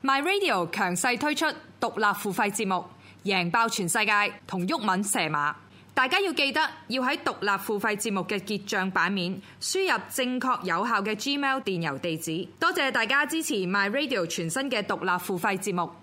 My Radio 強勢推出獨立付費節目，贏爆全世界同毓民蛇馬。大家要記得要喺獨立付費節目嘅結帳版面輸入正確有效嘅 Gmail 電郵地址。多謝大家支持 My Radio 全新嘅獨立付費節目。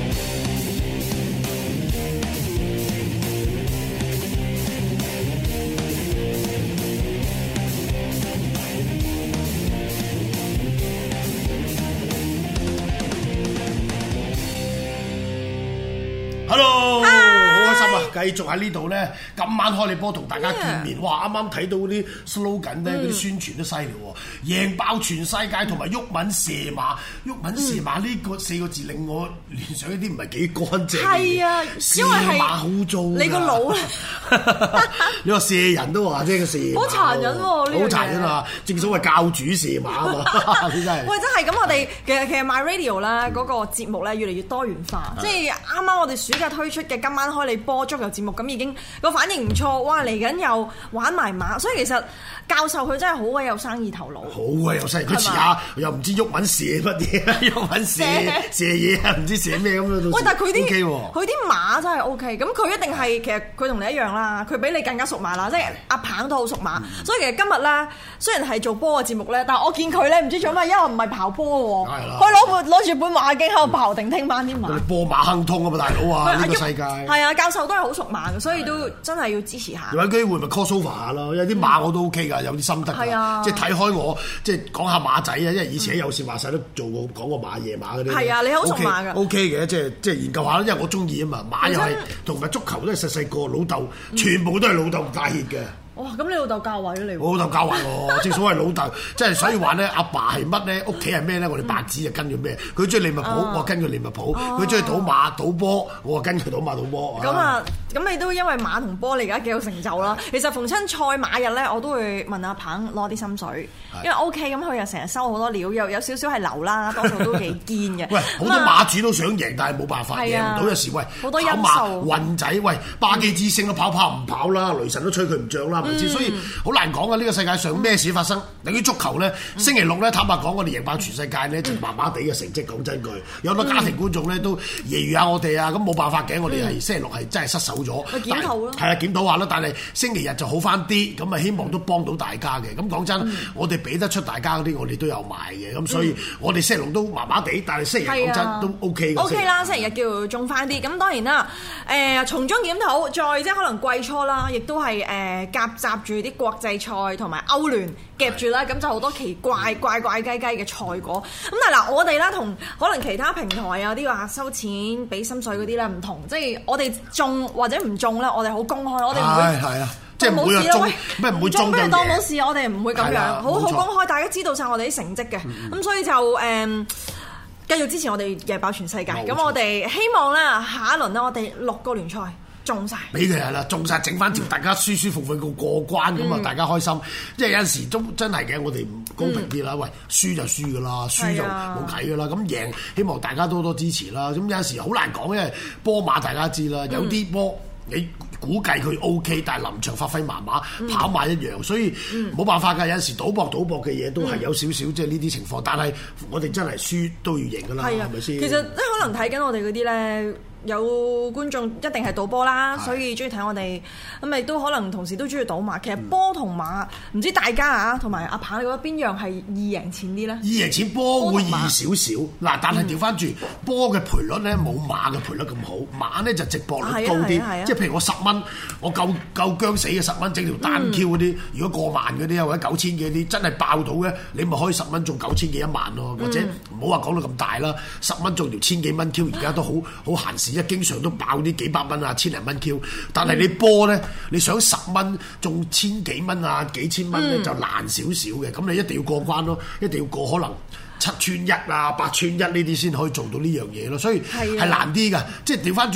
Hello， 好開心啊！繼續喺呢度咧，今晚開你波同大家見面。哇！啱啱睇到嗰啲 slogan 咧，嗰啲宣傳都犀利喎，贏爆全世界同埋毓民射馬。毓民射馬呢個4個字令我聯想一啲唔係幾乾淨。 係啊， 射馬好糟。你個腦咧？ 你話射人都話啫，個射馬。 好殘忍喎！ 好殘忍啊！正所謂教主射馬啊嘛，真係。 喂，真係咁，我哋其實 My Radio 咧嗰個節目咧越嚟越多元化，即係啱啱我哋暑假推出嘅今晚開你波足球節目，咁已經個反應唔錯，哇！嚟緊又玩埋馬，所以其實教授佢真係好鬼有生意頭腦， 好鬼有生意。佢遲下又唔知毓民射乜嘢，毓民射嘢啊，唔知射咩咁樣。喂， 但係佢啲馬真係 OK，咁佢一定係其實佢同你一樣啦，佢比你更加熟馬啦，即係阿鵬都好熟馬，所以其實今日咧雖然係做波嘅節目咧，但係我見佢咧唔知做咩，因為唔係跑波喎，佢攞住本馬經喺度跑定聽班啲馬。 波馬亨通啊嘛，大佬啊！呢個世界係啊，教授都係好熟馬嘅，所以都真係要支持下。 有機會咪 call over 下咯，有啲馬我都 OK 㗎，有啲心得㗎，即係睇開我，即係講下馬仔啊，因為以前喺有線話晒都做過講過馬夜馬嗰啲。係啊，你好熟馬㗎。OK 嘅，即係研究下，因為我中意啊嘛，馬又係同埋足球都係細個老豆，全部都係老豆帶挈嘅。哇！咁你老豆教壞咗你喎？我老豆教壞我，正所謂老豆，即係所以話咧，阿爸係乜咧，屋企係咩咧，我哋白紙就跟住咩。佢中意利物浦，我跟佢利物浦；佢中意賭馬賭波，我跟佢賭馬賭波。咁啊，咁你都因為馬同波，你而家幾有成就啦。其實逢親賽馬日咧，我都會問阿鵬攞啲心水，因為 OK 咁佢又成日收好多料，又有少少係流啦，多數都幾堅嘅。喂，好多馬主都想贏，但係冇辦法贏唔到。有時喂，好多因素，運仔喂，巴基之星都跑唔跑啦，雷神都吹佢唔漲啦。所以好難講啊！呢個世界上咩事發生？等於足球咧，星期六咧，坦白講，我哋贏爆全世界咧，就麻麻地嘅成績。講真句，有好多家庭觀眾咧都揶揄下我哋啊！咁冇辦法嘅，我哋係星期六係真係失手咗。檢討咯，係啊，檢討下啦。但係星期日就好翻啲，咁啊希望都幫到大家嘅。咁講真，我哋俾得出大家嗰啲，我哋都有賣嘅。咁所以我哋星期六都麻麻地，但係星期日講真都 OK 嘅。OK 啦，星期日叫中翻啲。咁當然啦，從中檢討，再即係可能季初啦，亦都係夾雜住啲國際賽同埋歐聯夾住啦，咁就好多奇怪怪雞嘅賽果。咁但係嗱，我哋咧同可能其他平台啊啲話收錢俾心水嗰啲咧唔同，即係我哋中或者唔中咧，我哋好公開，我哋唔會係啊，即係唔會中咩唔會中嘅嘢，當冇事，我哋唔會咁樣，好公開，大家知道晒我哋啲成績嘅。咁所以就繼續支持我哋贏爆全世界。咁我哋希望咧下一輪咧，我哋6個聯賽中晒，俾佢係啦，中晒整翻條，大家舒舒服服過關咁啊，大家開心。即係有陣時都真係嘅，我哋唔公平啲啦。喂，輸就輸噶啦，輸就冇計噶啦。咁贏，希望大家多多支持啦。咁有陣時好難講，因為波馬大家知啦，有啲波你估計佢 OK， 但係臨場發揮麻麻，跑馬一樣，所以冇辦法㗎。有陣時賭博嘅嘢都係有少少即係呢啲情況，但係我哋真係輸都要贏㗎啦，係咪先？其實即係可能睇緊我哋嗰啲咧。有觀眾一定係賭波啦，所以中意睇我哋，咁亦都可能同時都中意賭馬。其實波同馬唔知大家啊，同埋阿鵬，你覺得邊樣係易贏錢啲咧？易贏錢波會易少少，嗱，但係調翻轉波嘅賠率咧冇馬嘅賠率咁好，馬咧就值博率高啲。即係譬如我10蚊，我夠姜死嘅10蚊整條單 Q 嗰啲，如果過萬嗰啲啊或者9000幾啲真係爆到嘅，你咪可以10蚊中9000幾1萬咯，或者唔好話講到咁大啦，10蚊中條1000幾蚊 Q， 而家都好閒時。一經常都爆啲幾百蚊啊，千零蚊 Q， 但係你波咧，你想10蚊中千幾蚊啊，幾千蚊咧就難少少嘅，咁你一定要過關咯，一定要過可能7串1啊、8串1呢啲先可以做到呢樣嘢咯，所以係難啲㗎，即係調翻轉，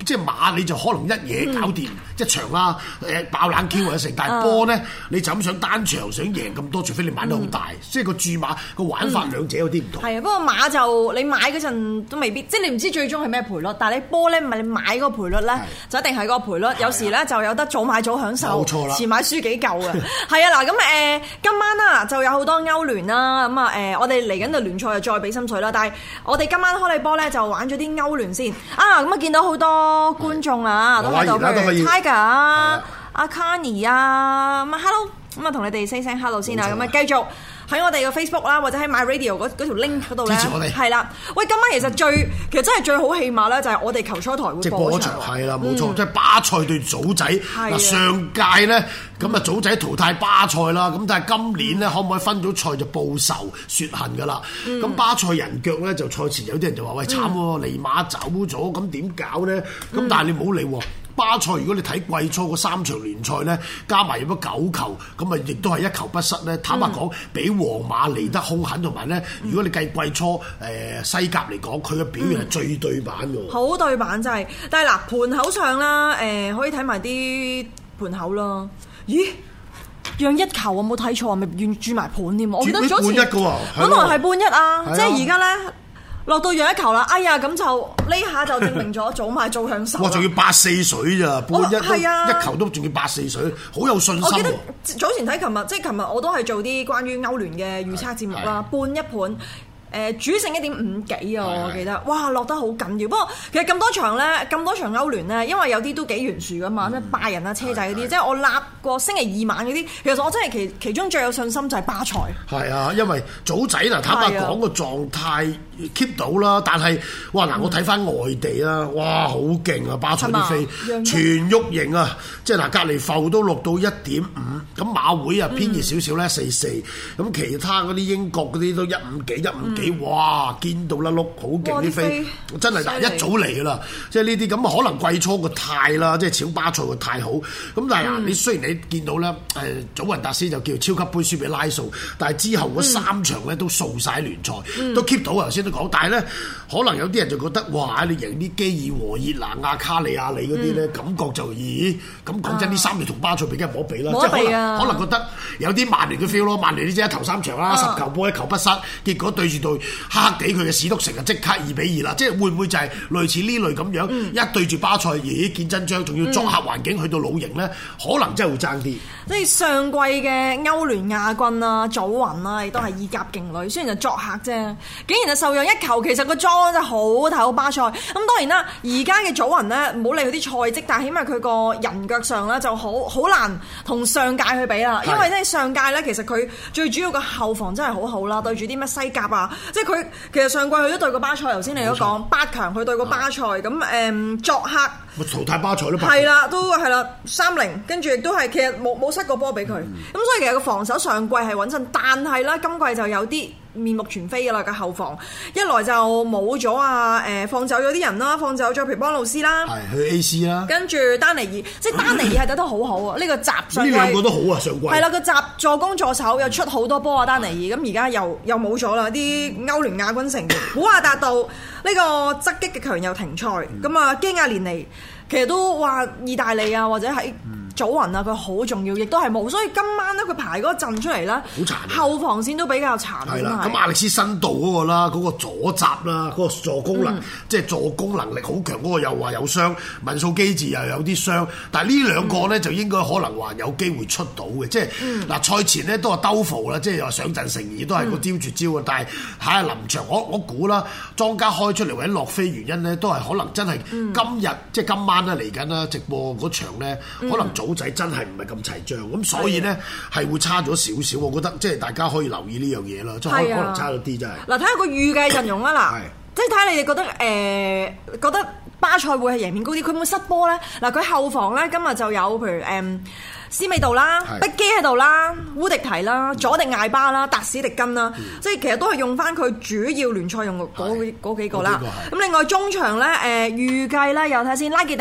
即係馬你就可能一嘢搞掂一場啦，爆冷 Q 或者成，但係波咧你就咁想單場想贏咁多，除非你玩得好大，即係個注馬個玩法兩者有啲唔同。 係啊，不過馬就你買嗰陣都未必，即係你唔知最終係咩賠率，但係你波咧唔係你買嗰個賠率咧，就一定係嗰個賠率。有時咧就有得早買早享受， 冇錯啦， 遲買輸幾嚿啊！係啊，嗱咁今晚啦就有好多歐聯啦，咁我哋嚟緊嘅聯賽就再俾心水啦。但係我哋今晚開你波咧就玩咗啲歐聯先啊！咁見到好多觀眾啊，都喺度，譬如 Tiger 啊、阿 Carney 啊，咁 Hello， 咁同你哋 say 聲 Hello 先啊，咁繼續喺我哋嘅 Facebook 啦，或者喺 MyRadio 嗰條 link 嗰度咧， 支持我哋。 係啦，喂，今晚其實真係最好戲碼咧，就係我哋球賽台會播場， 係啦，冇錯，即係巴塞對祖仔。嗱，上屆咧咁啊，祖仔淘汰巴塞啦，咁但係今年咧可唔可以分組賽就報仇雪恨㗎啦？咁巴塞人腳咧就賽前有啲人就話：喂，慘喎，尼馬走咗，咁點搞咧？咁但係你唔好理喎。巴塞如果你睇季初嗰3場聯賽咧，加埋入咗9球，咁啊亦都係1球不失咧。坦白講，比皇馬嚟得兇狠，同埋咧，如果你計季初西甲嚟講，佢嘅表現係最對版㗎。 好對版真係，但係嗱盤口上啦，可以睇埋啲盤口咯。咦？讓1球我冇睇錯，咪願注埋盤添？我記得早前本來係半一啊，即係而家咧。落到讓1球啦，哎呀咁就呢下就證明咗早買早享受。 哇！仲要8-4水咋，半一球都仲要8-4水，好有信心。我記得早前睇琴日我都係做啲關於歐聯嘅預測節目啦，半一盤。主勝1.5幾啊！我記得，哇落得好緊要。不過其實咁多場歐聯咧，因為有啲都幾懸殊噶嘛，咩拜仁啊、車仔嗰啲，即係我立過星期2晚嗰啲。其實我真係其中最有信心就係巴塞。係啊，因為祖仔嗱，坦白講個狀態 keep 到啦，但係哇嗱，我睇翻外地啦，哇好勁啊！巴塞啲飛全喐型啊，即係嗱隔離埠都落到1.5，咁馬會啊偏熱少少咧4-4，咁其他嗰啲英國嗰啲都1.5幾1.5。哇！見到啦碌，好勁啲飛，真係嗱一早嚟噶啦，即係呢啲咁可能季初個態啦，即係搶巴塞個態好。咁但係嗱，你雖然你見到咧，祖雲達斯就叫超級杯輸俾拉素，但係之後嗰3場咧都掃晒聯賽，都 keep 到頭先都講。但係咧，可能有啲人就覺得哇！你贏啲基爾和熱拿亞卡利亞里嗰啲咧，感覺就咦咁講真，呢3隊同巴塞比梗係冇得比啦，即係可能覺得有啲曼聯嘅 feel 咯。曼聯呢隻頭3場啦，10球波1球不失，結果對住黑黑地佢嘅史篤城啊，即刻2-2啦！即係會唔會就係類似呢類咁樣，一對住巴塞，咦見真章，仲要作客環境去到老營咧，可能真係會爭啲。 即係上季嘅歐聯亞軍啊，祖雲啊，亦都係意甲勁旅，雖然就作客啫，竟然就受讓1球，其實個裝真係好睇好巴塞。咁當然啦，而家嘅祖雲咧，唔好理佢啲賽績，但係起碼佢個人腳上咧就好難同上屆去比啦。因為咧上屆咧，其實佢最主要個後防真係好好啦，對住啲咩西甲啊。即係佢其實上季佢都對過巴塞，頭先你都講8強佢對過巴塞，咁作客淘汰巴塞都係啦，都係啦3-0，跟住亦都係其實冇失過波俾佢，咁所以其實個防守上季係穩陣，但係咧今季就有啲面目全非㗎啦，個後防一來就冇咗放走咗啲人啦，放走咗譬如邦魯斯啦， 係去 AC 啦， 跟住丹尼爾，即係丹尼爾係打得好好啊！呢個集上季呢兩個都好啊，上季係啦，個集助攻助手又出好多波啊，丹尼爾咁而家又冇咗啦，啲歐聯亞軍成員古亞達道呢個側擊嘅強又停賽，咁啊基亞連尼其實都話意大利啊或者喺祖雲啊，佢好重要，亦都係冇，所以今晚咧佢排嗰陣出嚟啦， 好殘， 後防線都比較殘。 係啦，咁亞歷斯辛道嗰個啦，嗰個左閘啦，嗰個助攻能，即係助攻能力好強嗰個又話有傷，文素基治又有啲傷，但係呢兩個咧就應該可能話有機會出到嘅，即係嗱賽前咧都係兜伏啦，即係又話上陣成疑，都係個雕絕招啊！但係睇下臨場，我估啦，莊家開出嚟或者落飛原因咧，都係可能真係今日即係今晚咧嚟緊啦，直播嗰場咧，可能組仔真係唔係咁齊將，咁所以咧係會差咗少少，我覺得即係大家可以留意呢樣嘢啦，即係可能差咗啲真係。 嗱，睇下個預計陣容啦，嗱，即係睇下你哋覺得巴塞會係贏面高啲，佢會唔會失波咧？嗱，佢後防咧今日就有譬如斯美度啦、碧基喺度啦、烏迪提啦、佐迪艾巴啦、達史迪根啦，即係其實都係用翻佢主要聯賽用嗰幾個啦。咁另外中場咧預計咧又睇下先，拉傑迪。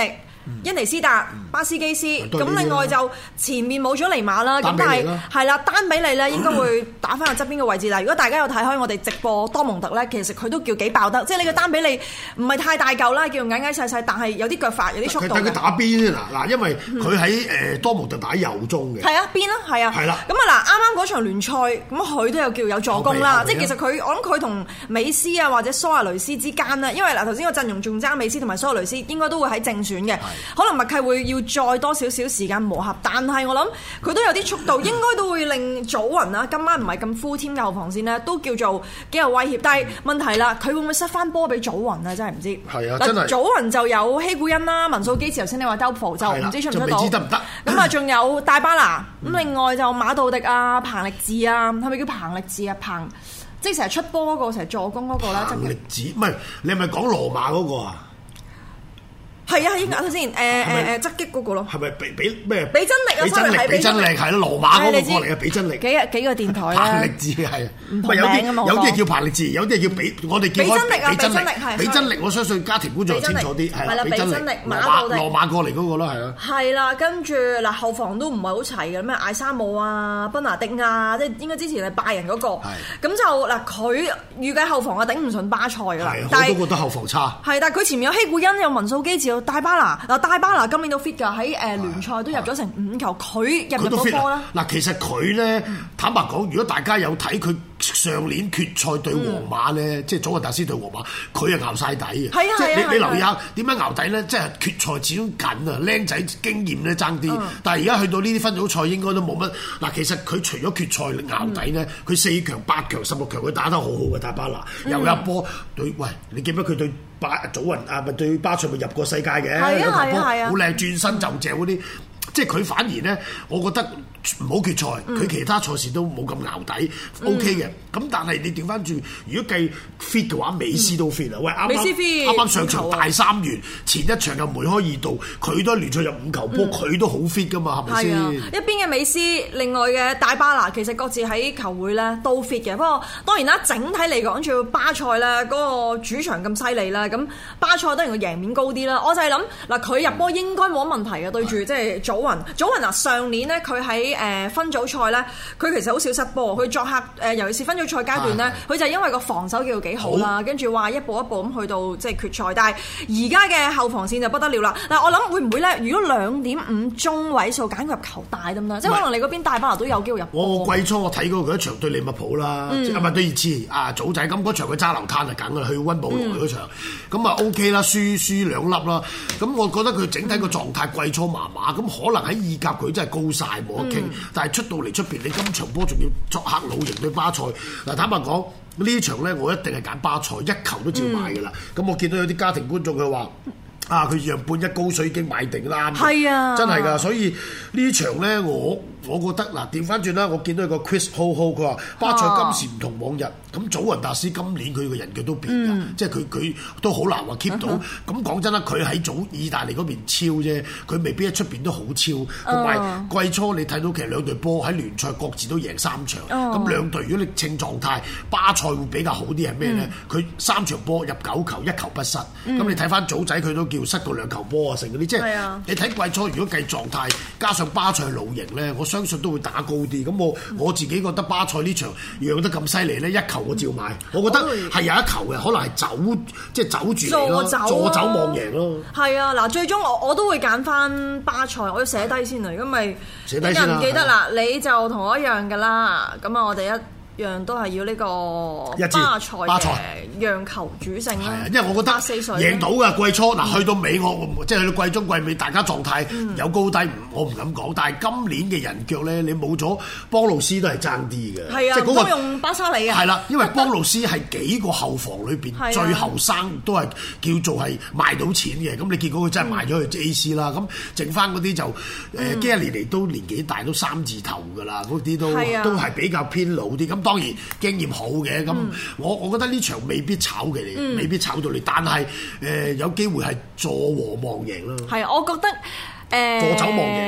恩尼斯達、巴斯基斯，咁另外就前面冇咗尼馬啦，咁但係啦，丹比利咧應該會打翻去側邊嘅位置啦。如果大家有睇開我哋直播多蒙特咧，其實佢都叫幾爆得，即係呢個丹比利唔係太大嚿啦，叫矮矮細細，但係有啲腳法，有啲速度。 佢打邊先嗱，因為佢喺多蒙特打右中嘅。 係啊，邊啦，係啊。係啦。咁啊嗱，啱啱嗰場聯賽，咁佢都有叫有助攻啦，即係其實佢我諗佢同美斯啊或者蘇亞雷斯之間咧，因為嗱頭先個陣容仲爭美斯同埋蘇亞雷斯，應該都會喺正選嘅。可能默契會要再多少少時間磨合，但係我諗佢都有啲速度，應該都會令祖雲啊今晚唔係咁 full team 嘅後防線呢，都叫做幾有威脅。但係問題啦，佢會唔會失翻波俾祖雲啊？真係唔知。係啊，真係。祖雲就有希古恩啦、文素基治，頭先你話兜普就唔知出唔出到。就未知得唔得？咁啊，仲有大巴拿，咁另外就馬道迪啊、彭力治啊，係咪叫彭力治啊？即係成日出波嗰個，成日助攻嗰個咧。 彭力治唔係你係咪講羅馬嗰個啊？ 係啊，應該睇先，側擊嗰個咯。係咪俾咩？ 俾真力啊！ 俾真力係咯，羅馬嗰個過嚟嘅俾真力。 幾個電台啊？ 彭力治係唔同名㗎嘛？有啲係叫彭力治，有啲係叫俾我哋叫俾真力啊！俾真力係。俾真力，我相信家庭觀眾清楚啲係啦。俾真力羅馬過嚟嗰個啦，係啦。係啦，跟住嗱後防都唔係好齊嘅，咩艾沙姆啊、賓拿迪亞，即係應該之前係拜仁嗰個。咁就嗱佢預計後防啊頂唔順巴塞㗎啦。 我都覺得後防差。 係，但係佢前面有希古恩，有文素基治。大巴拿今年都 fit 㗎，喺聯賽都入咗成5球，佢入唔到波啦。 嗱，其實佢咧坦白講，如果大家有睇佢上年決賽對皇馬咧，即係祖雲達斯對皇馬，佢係熬晒底嘅。係啊，即係你留意下點樣熬底咧？即係決賽始終緊啊，僆仔經驗咧爭啲。但係而家去到呢啲分組賽應該都冇乜。嗱，其實佢除咗決賽熬底咧，佢4強、8強、16強佢打得好好嘅大巴拿，又一波對。喂，你記唔記得佢對祖雲啊？咪對巴塞咪入過世界嘅？係啊，好靚轉身就正嗰啲。即係佢反而咧，我覺得唔好決賽，佢其他賽事都冇咁淆底 ，OK 嘅。咁但係你調翻轉，如果計 fit 嘅話，美斯都 fit 啊！喂，啱啱上場大3元，前一場又梅開2度，佢都聯賽入5球波，佢都好 fit 噶嘛，係咪先？ 一邊嘅美斯，另外嘅大巴拿，其實各自喺球會咧都 fit 嘅。不過當然啦，整體嚟講，仲要巴塞咧嗰個主場咁犀利啦，咁巴塞當然個贏面高啲啦。我就係諗嗱，佢入波應該冇乜問題嘅，對住即係祖雲啊，上年咧佢喺分組賽咧，佢其實好少失波。佢作客尤其是分組賽階段咧，佢就因為個防守叫做幾好啦，跟住話一步一步咁去到即係決賽。但係而家嘅後防線就不得了啦。嗱，我諗會唔會咧？如果2.5中位數揀佢入球大得唔得？即係可能你嗰邊大巴拿都有機會入波。 我季初我睇過佢一場對利物浦啦，即係咪對熱刺啊？早仔咁嗰場佢揸流灘就梗㗎啦，去溫布萊嗰場咁啊 OK 啦，輸2粒啦。咁我覺得佢整體個狀態季初麻麻，咁可能喺意甲佢真係高晒冇得傾，但係出到嚟出邊，你今場波仲要作客老營對巴塞。嗱，坦白講呢場咧，我一定係揀巴塞，1球都照買㗎啦。咁我見到有啲家庭觀眾佢話佢讓半一高水已經買定啦。係啊，真係㗎。所以呢場咧，我覺得嗱，調翻轉啦，我見到有個 Chris Ho 佢話巴塞今時唔同往日，咁祖雲達斯今年佢個人腳都變㗎，即係佢都好難話 keep 到。咁講真啦，佢喺意大利嗰邊超啫，佢未必喺出邊都好超。同埋季初你睇到其實兩隊波喺聯賽各自都贏3場，咁兩隊如果你稱狀態，巴塞會比較好啲係咩咧？佢3場波入9球，1球不失。咁你睇翻祖仔佢都叫失到2球波啊，成嗰啲即係你睇季初如果計狀態，加上巴塞老營咧，我相信都會打高啲。咁我自己覺得巴塞呢場讓得咁犀利咧，1球我照買。我覺得係有1球嘅，可能係走住嚟咯，助走望贏咯。係啊，嗱，最終我都會揀翻巴塞，我要寫低先啊，如果咪寫低先啦。唔記得啦，你就同我一樣㗎啦。咁啊，我哋一樣都係要呢個巴塞嘅讓球主勝啦。因為我覺得贏到嘅季初嗱，去到尾我即係去到季中季尾，大家狀態有高低，我唔敢講。但係今年嘅人腳咧，你冇咗邦魯斯都係爭啲嘅。係啊，即係嗰個用巴沙里啊。係啦，因為邦魯斯係幾個後防裏邊最後生，都係叫做係賣到錢嘅。咁你結果佢真係賣咗去 AC 啦。咁剩翻嗰啲就基亞尼尼都年紀大，都3字頭㗎啦。嗰啲都係比較偏老啲。咁當然經驗好嘅。咁我覺得呢場未必炒嘅，未必炒到你，但係有機會係助和望贏咯。係啊，我覺得助走望贏啦。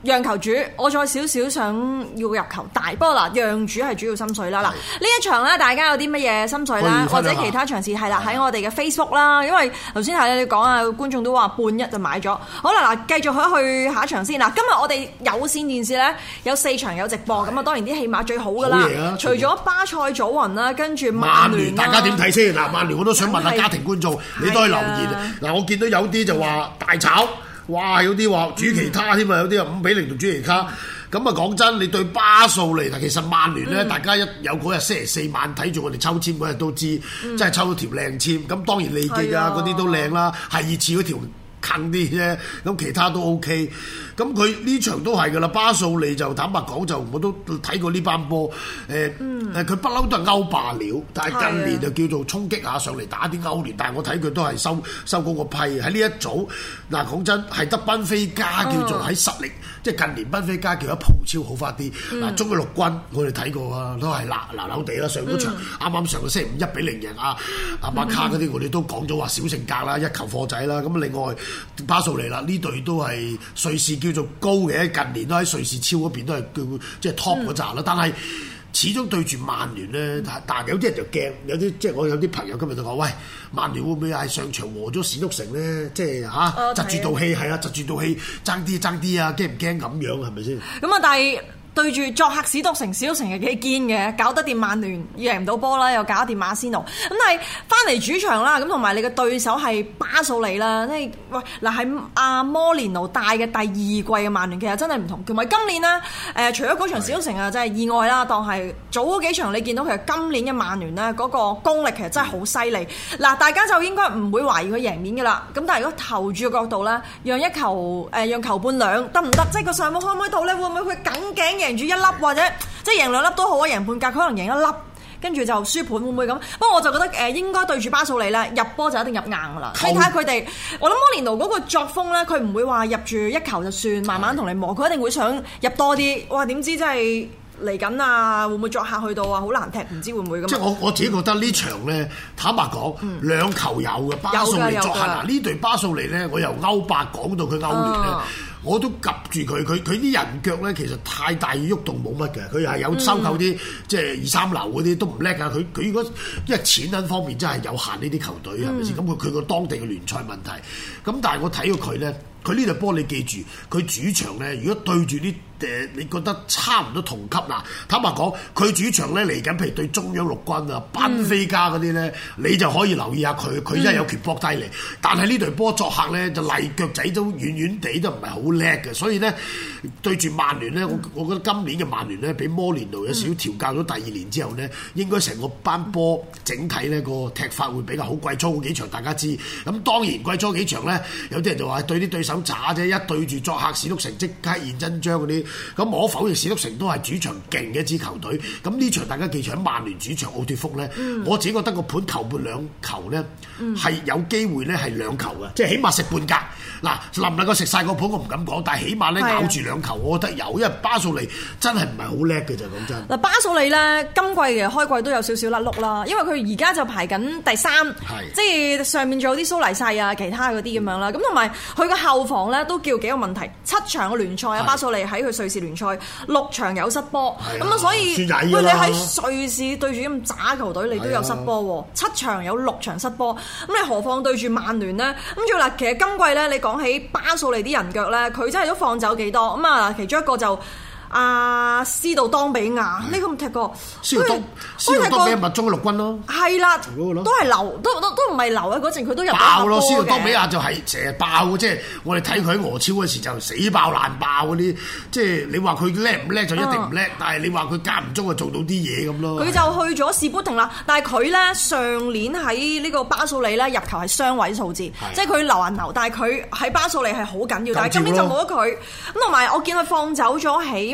讓球主，我再少少想要入球大，不過嗱，讓主係主要心水啦。嗱，呢一場咧，大家有啲乜嘢心水啦，或者其他場次係啦，喺我哋嘅 Facebook 啦，因為頭先係你講啊，觀眾都話半一就買咗。好啦，嗱，繼續去下一場先。嗱，今日我哋有線電視咧有4場有直播，咁啊當然啲戲碼最好噶啦。除咗巴塞祖雲啦，跟住曼聯， 大家點睇先？嗱，曼聯我都想問下家庭觀眾，你都可以留言。嗱，我見到有啲就話大炒。哇！有啲話主其他添啊，有啲啊5-0同主其他。咁啊講真，你對巴素利嗱，其實曼聯咧，大家一有嗰日星期4晚睇住我哋抽籤嗰日都知，真係抽到條靚籤。咁當然利記啊嗰啲都靚啦，係熱刺嗰條近啲啫。咁其他都 OK。咁佢呢場都係㗎啦，巴素利就坦白講就我都睇過呢班波。佢不嬲都係歐霸料，但係近年就叫做衝擊下上嚟打啲歐聯，但係我睇佢都係收嗰個批喺呢一組。嗱講真係得賓菲加叫做喺實力，即係近年賓菲加叫得葡超好翻啲。嗱中嘅陸軍我哋睇過啊，都係鬧地啦，上嗰場啱啱上個星期5 1-0贏阿馬卡嗰啲，我哋都講咗話小性格啦，一球貨仔啦。咁另外巴素利啦，呢隊都係瑞士叫做高嘅，近年都喺瑞士超嗰邊都係叫即係 top 嗰扎啦，但係始終對住曼聯咧，但係有啲人就驚，有啲即係我有啲朋友今日就講，喂，曼聯會唔會係上場和咗史篤城咧？即係窒住道氣，係啊，窒住道氣，爭啲啊，驚唔驚咁樣係咪先？咁啊，但係對住作客史篤城係幾堅嘅，搞得掂曼聯，贏唔到波啦，又搞得掂馬仙奴。咁但係翻嚟主場啦，咁同埋你嘅對手係巴素利啦，即係喂嗱喺阿摩連奴帶嘅第2季嘅曼聯，其實真係唔同。同埋今年呢，除咗嗰場史篤城啊，真係意外啦，當係早嗰幾場你見到其實今年嘅曼聯呢，嗰個功力其實真係好犀利。嗱，大家就應該唔會懷疑佢贏面㗎啦。咁但係如果投注嘅角度咧，讓球半兩得唔得？即係個上網可唔可以到咧？會唔會佢緊頸贏住1粒，或者即係贏2粒都好啊，贏半格佢可能贏1粒，跟住就輸盤，會唔會咁？不過我就覺得應該對住巴素利咧，入波就一定入硬噶啦。你睇下佢哋，我諗摩連奴嗰個作風咧，佢唔會話入住1球就算，慢慢同你磨，佢一定會想入多啲。哇！點知真係嚟緊啊？會唔會作客去到啊？好難踢，唔知會唔會咁。即係我自己覺得呢場咧，坦白講，2球有嘅巴素利作客嗱，呢隊巴素利咧，我由歐霸講到佢歐聯咧。我都及住佢啲人腳咧，其實太大喐動冇乜嘅，佢係有收購啲即係2-3流嗰啲都唔叻啊！佢如果因為錢銀方面真係有限呢啲球隊係咪先？咁佢個當地嘅聯賽問題，咁但係我睇過佢咧，佢呢隊波你記住，佢主場咧，如果對住啲你覺得差唔多同級嗱，坦白講，佢主場咧嚟緊，譬如對中央陸軍啊、賓菲加嗰啲咧，你就可以留意下佢真係有權搏低嚟。但係呢隊波作客咧就例腳仔都遠遠地都唔係好叻嘅，所以咧對住曼聯咧，我覺得今年嘅曼聯咧，俾摩連奴有少少調教咗第2年之後咧，應該成個班波整體咧個踢法會比較好。季初嗰幾場大家知，咁當然季初幾場咧，有啲人就話對啲對手渣啫，一對住作客史篤城即刻現真章嗰啲。咁我否認史篤城都係主場勁嘅一支球隊。咁呢場大家記住喺曼聯主場奧脱福咧，我自己覺得個盤球半2球咧係有機會咧係2球嘅，即係起碼食半格。嗱，能唔能夠食晒個盤我唔敢講，但係起碼咧咬住2球，我覺得有，因為巴素利真係唔係好叻嘅就講真。嗱，巴素利咧今季嘅開季都有少少甩碌啦，因為佢而家就排緊第3，即係上面仲有啲蘇黎世啊、其他嗰啲咁樣啦。咁同埋佢個後防咧都叫幾個問題，7場嘅聯賽啊，巴素利喺佢瑞士聯賽6場有失波，咁啊所以喂你喺瑞士對住咁渣球隊，你都有失波喎，7場有6場失波，咁你何況對住曼聯呢？咁仲有嗱，其實今季咧你講起巴素利啲人腳咧，佢真係都放走幾多咁啊？其中一個就斯道當比亞呢個唔踢過，斯道當比亞密中嘅陸軍咯，係啦，都係流，都唔係流啊！嗰陣佢都入爆咯，斯道當比亞就係成日爆嘅，即係我哋睇佢喺俄超嗰時就死爆爛爆嗰啲，即係你話佢叻唔叻就一定唔叻，但係你話佢間唔中就做到啲嘢咁咯。佢就去咗士砵亭啦，但係佢咧上年喺呢個巴素利咧入球係雙位數字，即係佢流人流，但係佢喺巴素利係好緊要，但係今年就冇咗佢。咁同埋我見佢放走咗起碼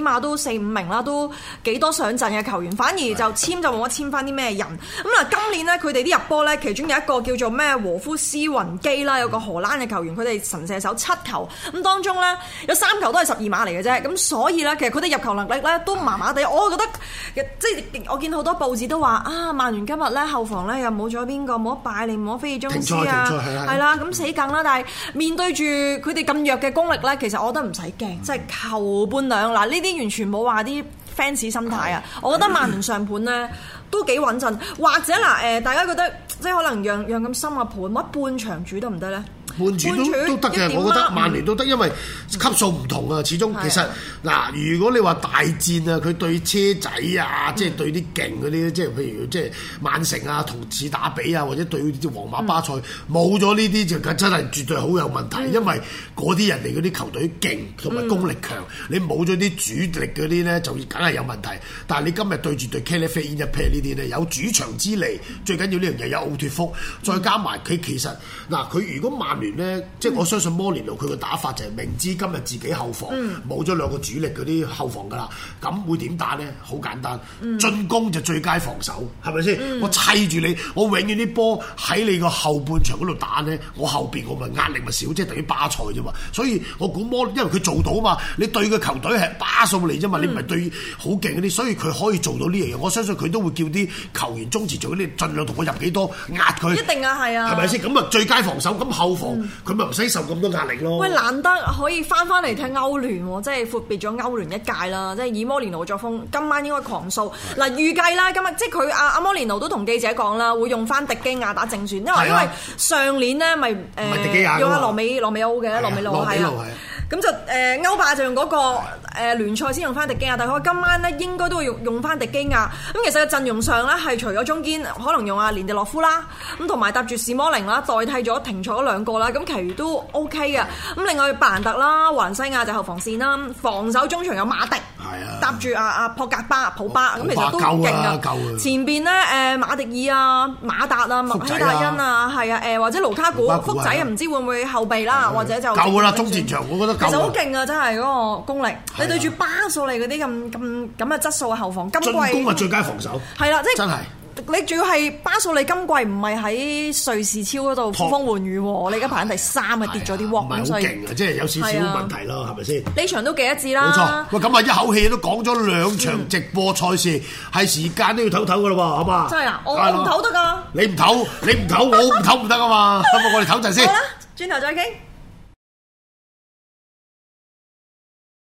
碼都4-5名啦，都幾多上陣嘅球員，反而就簽就冇乜簽翻啲咩人。咁今年呢，佢哋啲入波呢，其中有一個叫做咩和夫斯雲基啦，有個荷蘭嘅球員，佢哋神射手7球，咁當中呢，有3球都係12碼嚟嘅啫。咁所以呢，其實佢哋入球能力呢都麻麻地。我覺得即係我見好多報紙都話啊，曼聯今日呢後防呢又冇咗邊個，冇得拜利，冇得菲爾鍾斯啊，係啦，咁死梗啦。但係面對住佢哋咁弱嘅功力呢，其實我覺得唔使驚，即係球半兩。嗱，呢啲完全冇話啲 fans 心態啊！我覺得曼聯上盤呢都幾穩陣，或者大家覺得即係可能讓咁深嘅盤，乜半場主得唔得呢？ 半主都得嘅，我覺得曼聯都得，因為級數唔同啊。始終其實嗱，如果你話大戰啊，佢對車仔啊，即係對啲勁嗰啲，即係譬如即係曼城啊，同次打比啊，或者對啲皇馬巴塞，冇咗呢啲就真係絕對好有問題，因為嗰啲人哋嗰啲球隊勁同埋功力強，你冇咗啲主力嗰啲咧，就梗係有問題。但係你今日對住對 Califane 一 pair 呢啲咧，有主場之利，最緊要呢樣嘢有奧脱福，再加埋佢其實嗱，佢如果曼聯咧，即係我相信摩連奴佢個打法就係明知今日自己後防冇咗2個主力嗰啲後防㗎啦，咁會點打咧？好簡單，進攻就最佳防守，係咪先？我砌住你，我永遠啲波喺你個後半場嗰度打咧，我後邊我咪壓力咪少，即係等於巴塞啫嘛。所以我估因為佢做到嘛，你對嘅球隊係巴數嚟啫嘛，你唔係對好勁嗰啲，所以佢可以做到呢樣嘢。我相信佢都會叫啲球員中前做嗰啲，盡量同我入幾多壓佢。一定啊，係啊， 係咪先？咁啊最佳防守，咁後防。佢咪唔使受咁多壓力咯？ 喂，難得可以翻嚟踢歐聯喎，即係闊別咗歐聯一屆啦，即係以摩連奴作風，今晚應該狂掃。嗱，預計啦，今日即係佢阿摩連奴都同記者講啦，會用翻迪基亞打正選，因為上年呢咪用阿羅美奧嘅羅美路係啊。咁就歐霸就用嗰個聯賽先用翻迪基亞，但係佢今晚咧應該都會用翻迪基亞。咁其實個陣容上咧係除咗中堅可能用阿連迪洛夫啦，咁同埋搭住史摩寧啦，代替咗停賽嗰2個啦，咁其餘都 OK 嘅。咁另外白蘭特啦、華倫西亞就後防線啦，防守中場有馬迪，搭住阿普巴，咁其實都勁啊！前邊咧馬迪爾啊、馬達啊、麥希達恩啊，係啊，或者盧卡古、福仔唔知會唔會後備啦，或者就夠㗎啦，中前場我覺得。其實好勁啊！真係嗰個功力，你對住巴素利嗰啲咁嘅質素嘅後防，今季進攻係最佳防守。 係啦，即係真係你仲要係巴素利今季唔係喺瑞士超嗰度呼風喚雨喎，你而家排緊第3啊，跌咗啲鑊， 唔係好勁啊，即係有少少問題咯，係咪先？ 呢場都幾一致啦。 冇錯，喂，咁啊一口氣都講咗2場直播賽事，係時間都要唞唞㗎啦喎，好嘛？ 真係啊，我唔唞得㗎。 你唔唞，我唔唞唔得啊嘛，咁我哋唞陣先。 好啦，轉頭再傾。